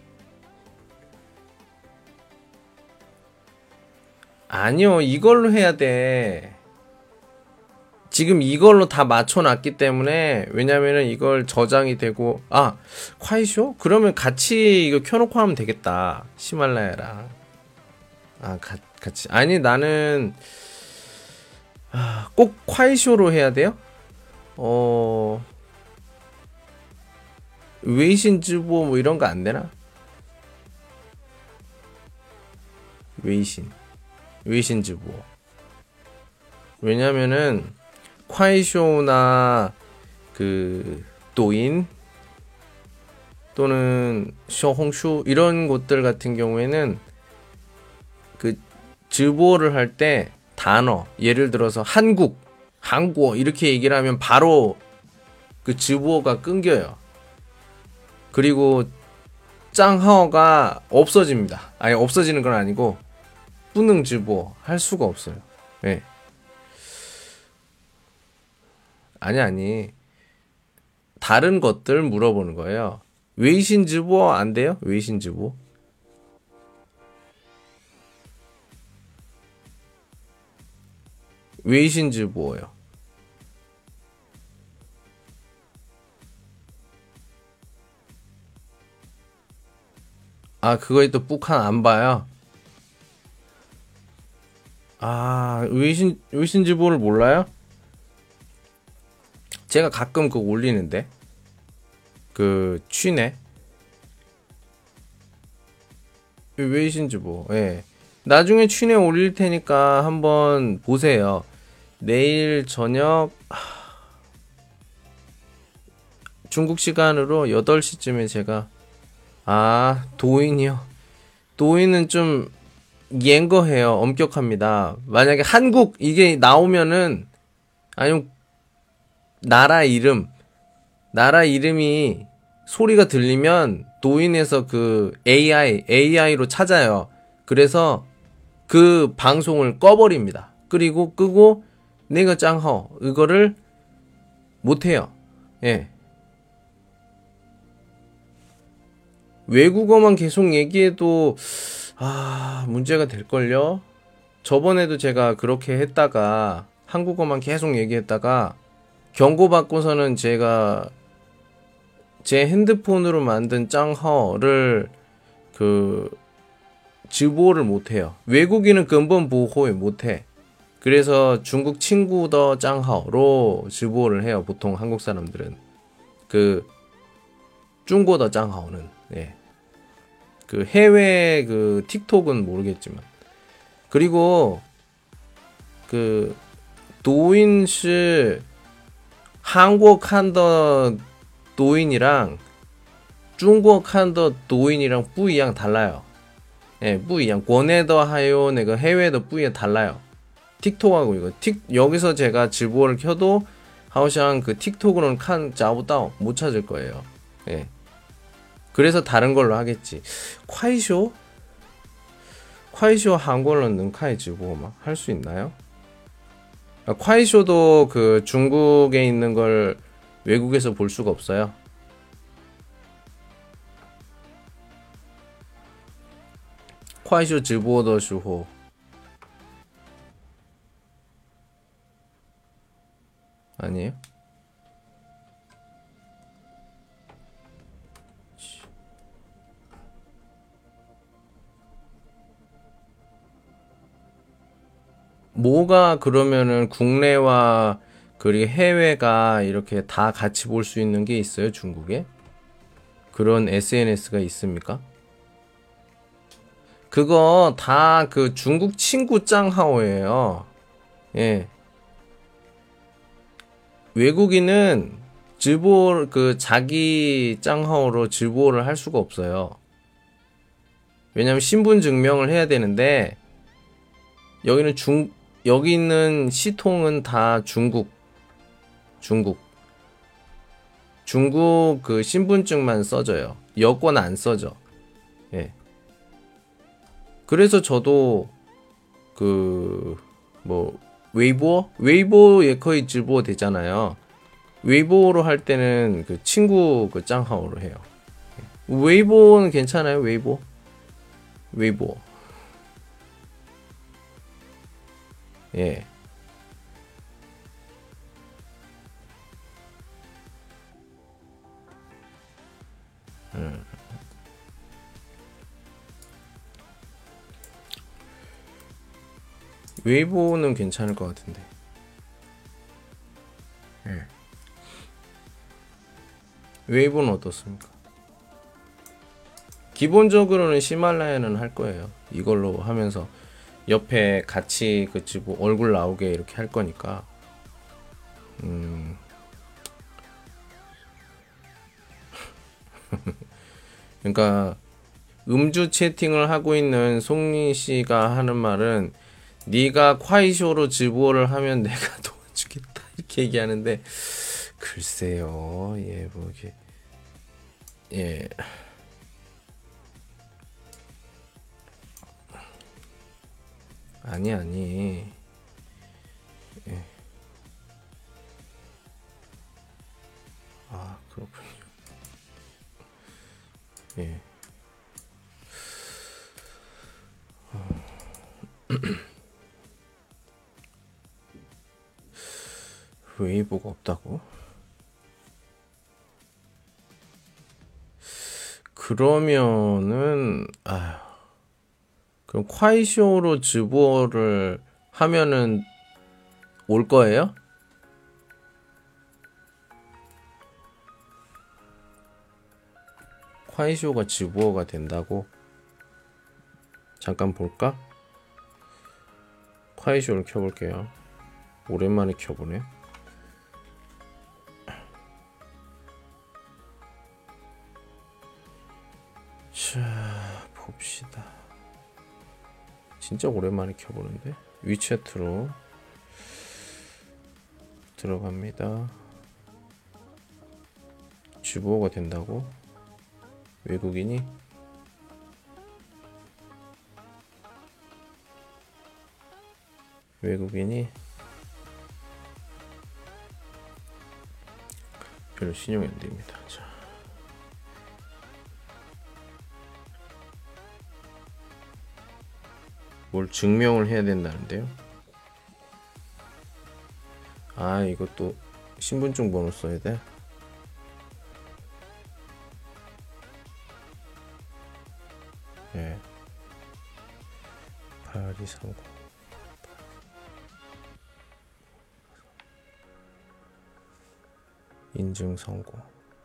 아니요, 이걸로 해야 돼. 지금 이걸로 다 맞춰놨기 때문에. 왜냐면은 이걸 저장이 되고 콰이쇼? 그러면 같이 이거 켜놓고 하면 되겠다. 히말라야랑 같이. 아니 나는 꼭 콰이쇼로 해야 돼요? 웨이신 즈보 뭐 이런 거 안 되나? 웨이신 즈보. 왜냐면은 콰이쇼나 그 도인 또는 쇼홍슈 이런 곳들 같은 경우에는 그 즈보를 할 때 단어 예를 들어서 한국어 이렇게 얘기를 하면 바로 그 즈보가 끊겨요. 그리고 짱하오가 없어집니다. 아니 없어지는 건 아니고 뿌능 즈보 할 수가 없어요. 네. 아니 다른 것들 물어보는 거예요. 웨이신 즈보 안 돼요? 웨이신 즈보? 웨이신 즈보요. 그거에 또 북한 안 봐요. 웨이신 즈보를 몰라요? 제가 가끔 그거 올리는데 그 취네 웨이신 즈보. 예. 나중에 취내 올릴 테니까 한번 보세요. 내일 저녁 중국 시간으로 8시쯤에 제가 도인이요. 도인은 좀 옌거해요. 엄격합니다. 만약에 한국 이게 나오면은 아니면 나라 이름이 소리가 들리면 도인에서 그 AI로 찾아요. 그래서 그 방송을 꺼버립니다. 그리고 끄고 내가 짱허 이거를 못해요. 예. 외국어만 계속 얘기해도 문제가 될걸요. 저번에도 제가 그렇게 했다가 한국어만 계속 얘기했다가 경고받고서는 제가 제 핸드폰으로 만든 짱허를 그直播를 못해요. 외국인은 근본 보호에 못해. 그래서 중국 친구 더 짱하오로 直播를 해요. 보통 한국 사람들은 그 중국 더 짱하오는 예. 그 해외 그 틱톡은 모르겠지만 그리고 그 도인是 한국 칸더 도인이랑 중국 칸더 도인이랑 不一样 달라요. 예, 不一样. 국내도 하요, 내가 해외도 不一样 달라요. 틱톡하고 이거 여기서 제가 直播를 켜도 하오샹 그 틱톡으로는找不到 못 찾을 거예요. 예. 그래서 다른 걸로 하겠지. 콰이쇼 한국어는 능카이 直播 막 할 수 있나요? 콰이쇼도 그 중국에 있는 걸 외국에서 볼 수가 없어요. 콰이쇼 直播的时候 아니에요? 뭐가 그러면은 국내와 그리고 해외가 이렇게 다 같이 볼 수 있는 게 있어요, 중국에? 그런 SNS가 있습니까? 그거 다 그 중국 친구 짱하오예요. 예. 외국인은 直播 그 자기 짱하오로 直播를 할 수가 없어요. 왜냐면 신분 증명을 해야 되는데 여기는 여기 있는 시통은 다 중국 그 신분증만 써져요. 여권 안 써져. 예. 그래서 저도 그 뭐 웨이보에 거의 直播 되잖아요. 웨이보로 할 때는 그 친구 그 짱하오로 해요. 웨이보는 괜찮아요. 웨이보. 예. 웨이보는 괜찮을 것 같은데. 예. 웨이보는 어떻습니까? 기본적으로는 히말라야는 할 거예요. 이걸로 하면서 옆에 같이 그 뭐 얼굴 나오게 이렇게 할 거니까. 그러니까 음주 채팅을 하고 있는 송린 씨가 하는 말은 네가 콰이쇼로 直播를 하면 내가 도와주겠다 이렇게 얘기하는데 글쎄요. 예, 뭐 이게 예. 아니. 예. 아, 그렇군요. 예. 웨이보가 없다고? 그러면은 그럼 콰이쇼로 直播를 하면은 올 거예요? 콰이쇼가 直播가 된다고? 잠깐 볼까? 콰이쇼를 켜볼게요. 오랜만에 켜보네. 자, 봅시다. 진짜 오랜만에 켜보는데 위챗으로 들어갑니다. 直播가 된다고? 외국인이? 별로 신용이 안 됩니다. 자. 뭘 증명을 해야 된다는데요? 아, 이것도 신분증 번호 써야 돼? 네. 8230 인증 성공.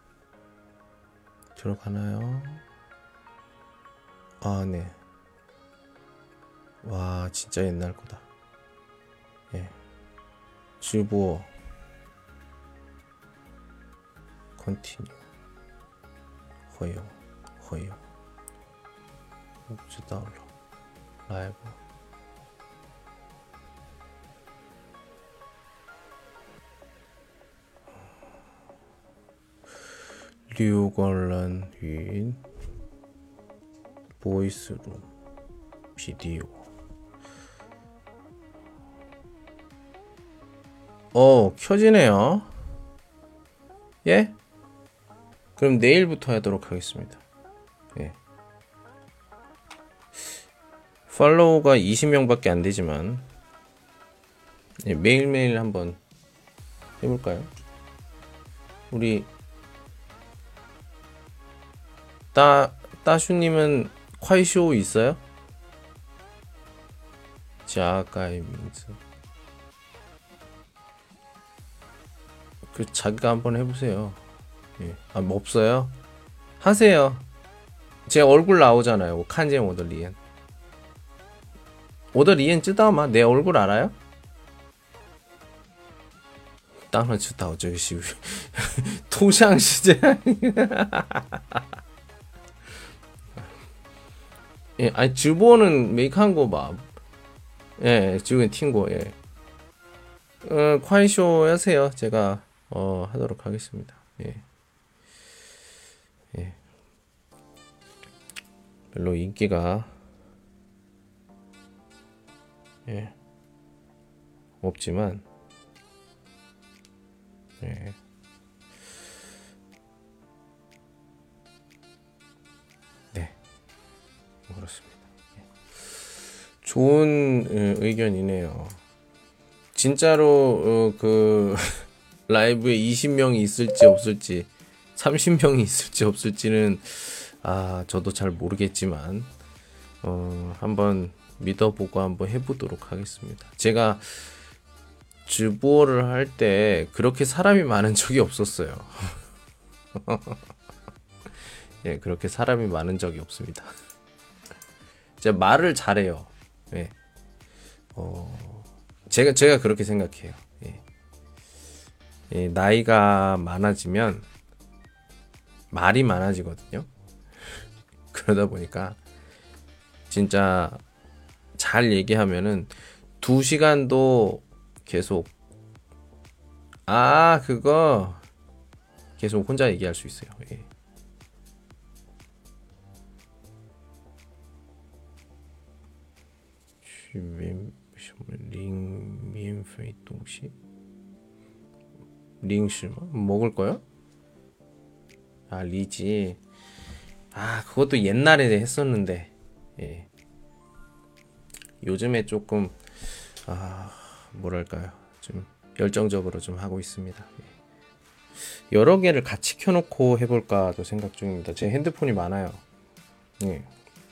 들어가나요? 아, 네. 와, 진짜 옛날 거다. 예. 주보어 컨티뉴 허용 옵즈 다운로드 라이브 류걸란 윈 보이스룸 비디오 켜지네요. 예? 그럼 내일부터 하도록 하겠습니다. 예. 팔로우가 20명밖에 안 되지만 예, 매일매일 한번 해볼까요? 우리 따슈님은 콰이쇼 있어요? 자가이민즈 그 자기가 한번 해보세요. 예. 아, 뭐 없어요? 하세요. 제 얼굴 나오잖아요. 칸제 오더리엔. 오더리엔 쯔다마 내 얼굴 알아요? 땅을 쯔다 어쩌시 토샹 시제. 예, 아니 주보는 메이크한 봐. 예, 지금 튄거 예. 콰이쇼 하세요. 제가 하도록 하겠습니다. 예. 예. 별로 인기가 예. 없지만 예. 네. 그렇습니다. 예. 좋은 의견이네요. 진짜로 그 라이브에 20명이 있을지 없을지 30명이 있을지 없을지는 저도 잘 모르겠지만 한번 믿어보고 한번 해보도록 하겠습니다. 제가 주보를 할 때 그렇게 사람이 많은 적이 없었어요. 예, 그렇게 사람이 많은 적이 없습니다. 제가 말을 잘해요. 예. 제가 그렇게 생각해요. 예. 예, 나이가 많아지면 말이 많아지거든요. 그러다 보니까 진짜 잘 얘기하면은 2시간도 계속 그거 계속 혼자 얘기할 수 있어요. 예. 링免费东西 링시 먹을 거요? 리지. 그것도 옛날에 했었는데 예. 요즘에 조금 뭐랄까요, 좀 열정적으로 좀 하고 있습니다. 예. 여러 개를 같이 켜놓고 해볼까도 생각 중입니다. 제 핸드폰이 많아요. 예.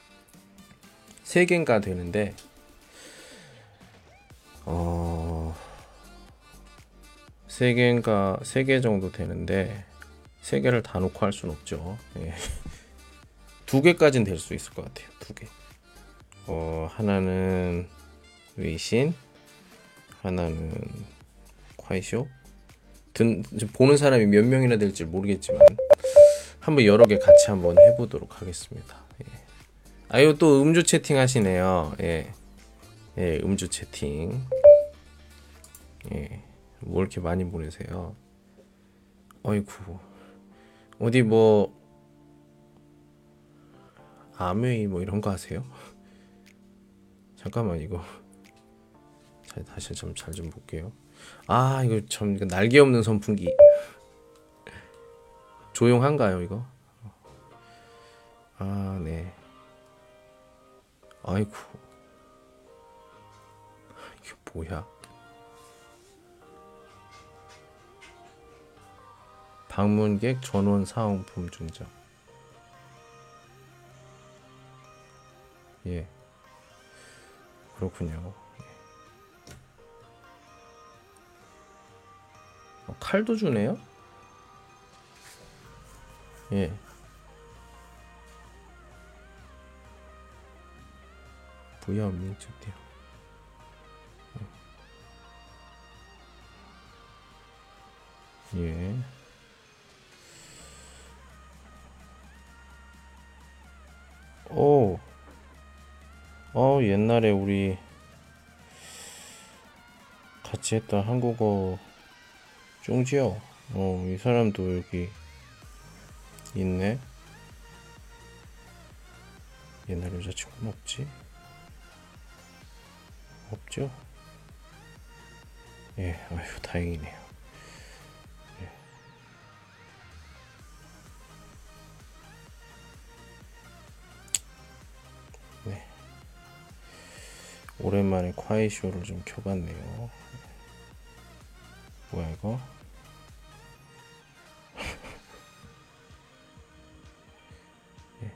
3개인가 되는데 3개 정도 되는데 3개를 다 놓고 할 수는 없죠. 예. 2개까지는 될 수 있을 것 같아요. 2개. 하나는 웨이신, 하나는 콰이쇼. 보는 사람이 몇 명이나 될지 모르겠지만 한번 여러 개 같이 한번 해보도록 하겠습니다. 예. 이거 또 음주 채팅 하시네요. 예. 예, 음주 채팅. 예. 뭐 이렇게 많이 보내세요? 어이구. 어디 뭐 아메이 뭐 이런 거 하세요? 잠깐만 이거 다시 좀 잘 좀 볼게요. 이거 참 날개 없는 선풍기. 조용한가요 이거? 네. 아이고. 뭐야? 방문객 전원 사은품 증정. 예. 그렇군요. 칼도 주네요? 예. 부여 민축대요. 예. 오. 옛날에 우리 같이 했던 한국어 쫑지요. 이 사람도 여기 있네. 옛날 여자친구는 없지? 없죠? 예, 아휴, 다행이네요. 예. 네. 오랜만에 콰이쇼를 좀 켜봤네요. 뭐야, 이거? 예.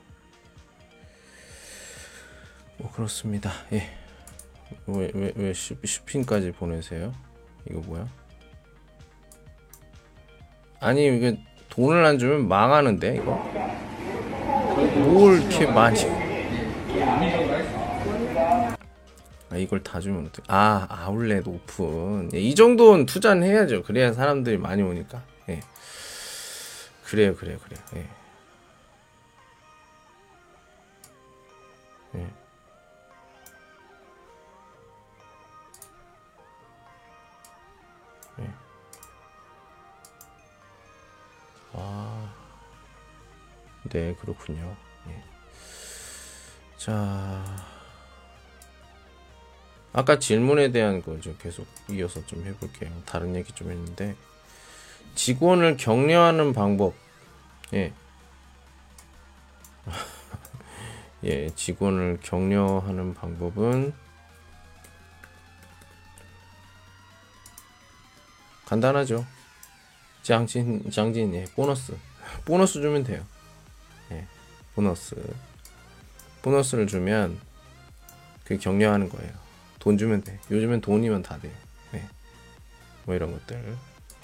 그렇습니다. 예. 왜 쇼핑까지 보내세요? 이거 뭐야? 아니, 이게 돈을 안 주면 망하는데, 이거? 뭘 이렇게 많이. 이걸 다 주면 어떡해. 아울렛 오픈. 예, 이 정도는 투자는 해야죠. 그래야 사람들이 많이 오니까. 예. 그래요. 예. 예. 예. 네, 그렇군요. 예. 자, 아까 질문에 대한 거 좀 계속 이어서 좀 해볼게요. 다른 얘기 좀 했는데, 직원을 격려하는 방법. 예. 예, 직원을 격려하는 방법은 간단하죠. 장진, 예, 보너스 주면 돼요. 예, 보너스를 주면 그게 격려하는 거예요. 돈 주면 돼. 요즘엔 돈이면 다 돼요. 예, 뭐 이런 것들.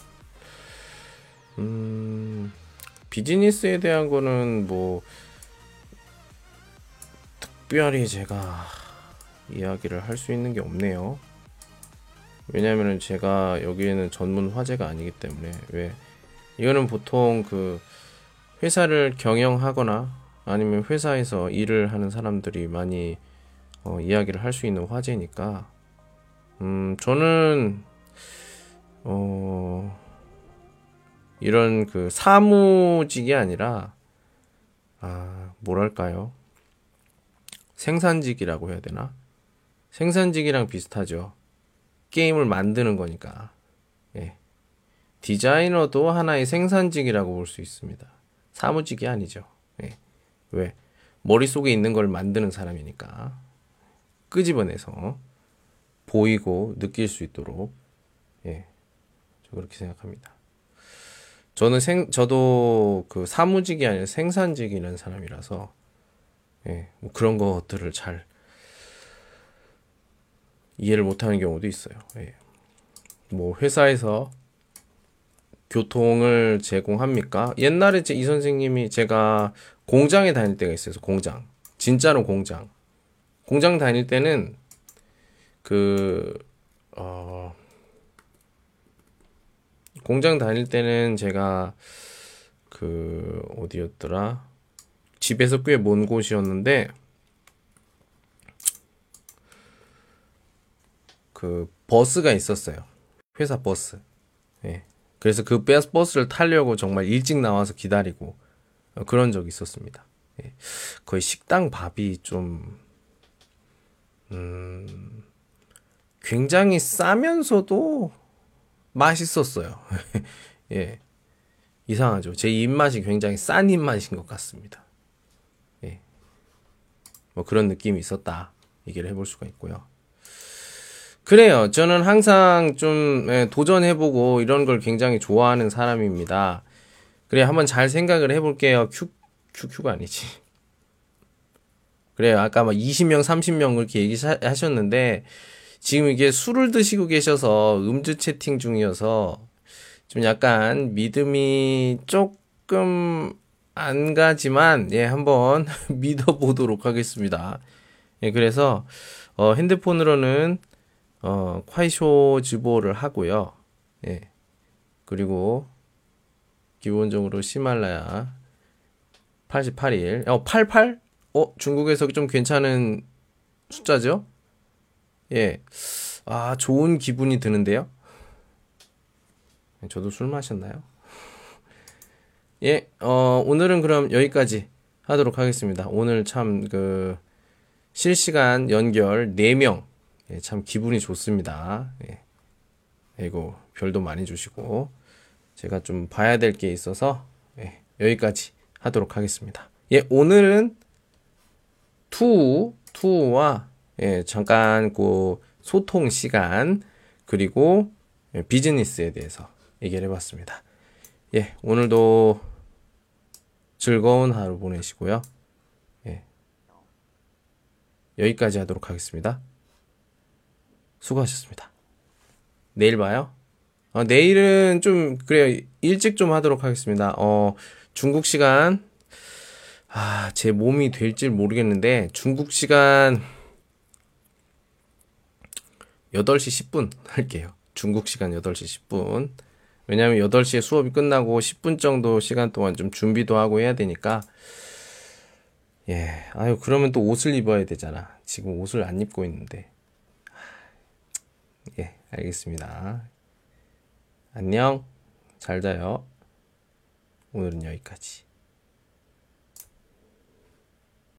비즈니스에 대한 거는 뭐 특별히 제가 이야기를 할 수 있는 게 없네요. 왜냐면은 제가 여기에는 전문 화제가 아니기 때문에. 왜 이거는 보통 그 회사를 경영하거나 아니면 회사에서 일을 하는 사람들이 많이 이야기를 할 수 있는 화제니까 저는 이런 그 사무직이 아니라 뭐랄까요, 생산직이라고 해야 되나? 생산직이랑 비슷하죠. 게임을 만드는 거니까. 예. 디자이너도 하나의 생산직이라고 볼 수 있습니다. 사무직이 아니죠. 예. 왜? 머릿속에 있는 걸 만드는 사람이니까. 끄집어내서 보이고 느낄 수 있도록. 예. 저 그렇게 생각합니다. 저도 그 사무직이 아니라 생산직이라는 사람이라서, 예. 뭐 그런 것들을 잘 이해를 못하는 경우도 있어요. 예. 뭐 회사에서 교통을 제공합니까? 옛날에 이 선생님이, 제가 공장에 다닐 때가 있어요. 공장. 진짜로 공장. 공장 다닐 때는 공장 다닐 때는 제가 어디였더라? 집에서 꽤 먼 곳이었는데 그 버스가 있었어요. 회사 버스. 예. 그래서 그 버스를 타려고 정말 일찍 나와서 기다리고 그런 적이 있었습니다. 예. 거의 식당 밥이 좀 굉장히 싸면서도 맛있었어요. 예. 이상하죠. 제 입맛이 굉장히 싼 입맛인 것 같습니다. 예. 뭐 그런 느낌이 있었다. 얘기를 해볼 수가 있고요. 그래요. 저는 항상 좀 도전해보고 이런 걸 굉장히 좋아하는 사람입니다. 그래, 한번 잘 생각을 해볼게요. QQ가 아니지. 그래요. 아까 막 20명, 30명 그렇게 얘기하셨는데, 지금 이게 술을 드시고 계셔서 음주 채팅 중이어서 좀 약간 믿음이 조금 안 가지만, 예, 한번 믿어보도록 하겠습니다. 예, 그래서, 핸드폰으로는, 콰이쇼直播를 하고요. 예, 그리고, 기본적으로 히말라야 88일, 88? 중국에서 좀 괜찮은 숫자죠? 예. 아, 좋은 기분이 드는데요? 저도 술 마셨나요? 예, 오늘은 그럼 여기까지 하도록 하겠습니다. 오늘 참, 실시간 연결 4명. 예, 참 기분이 좋습니다. 예. 그리고 별도 많이 주시고, 제가 좀 봐야 될 게 있어서, 예, 여기까지 하도록 하겠습니다. 예, 오늘은 투와, 예, 잠깐 소통 시간, 그리고 비즈니스에 대해서 얘기를 해봤습니다. 예, 오늘도 즐거운 하루 보내시고요. 예, 여기까지 하도록 하겠습니다. 수고하셨습니다. 내일 봐요. 내일은 좀, 그래요. 일찍 좀 하도록 하겠습니다. 중국 시간, 제 몸이 될지 모르겠는데, 중국 시간 8시 10분 할게요. 중국 시간 8시 10분. 왜냐면 8시에 수업이 끝나고 10분 정도 시간 동안 좀 준비도 하고 해야 되니까. 예. 아유, 그러면 또 옷을 입어야 되잖아. 지금 옷을 안 입고 있는데. 예, 알겠습니다. 안녕. 잘 자요. 오늘은 여기까지.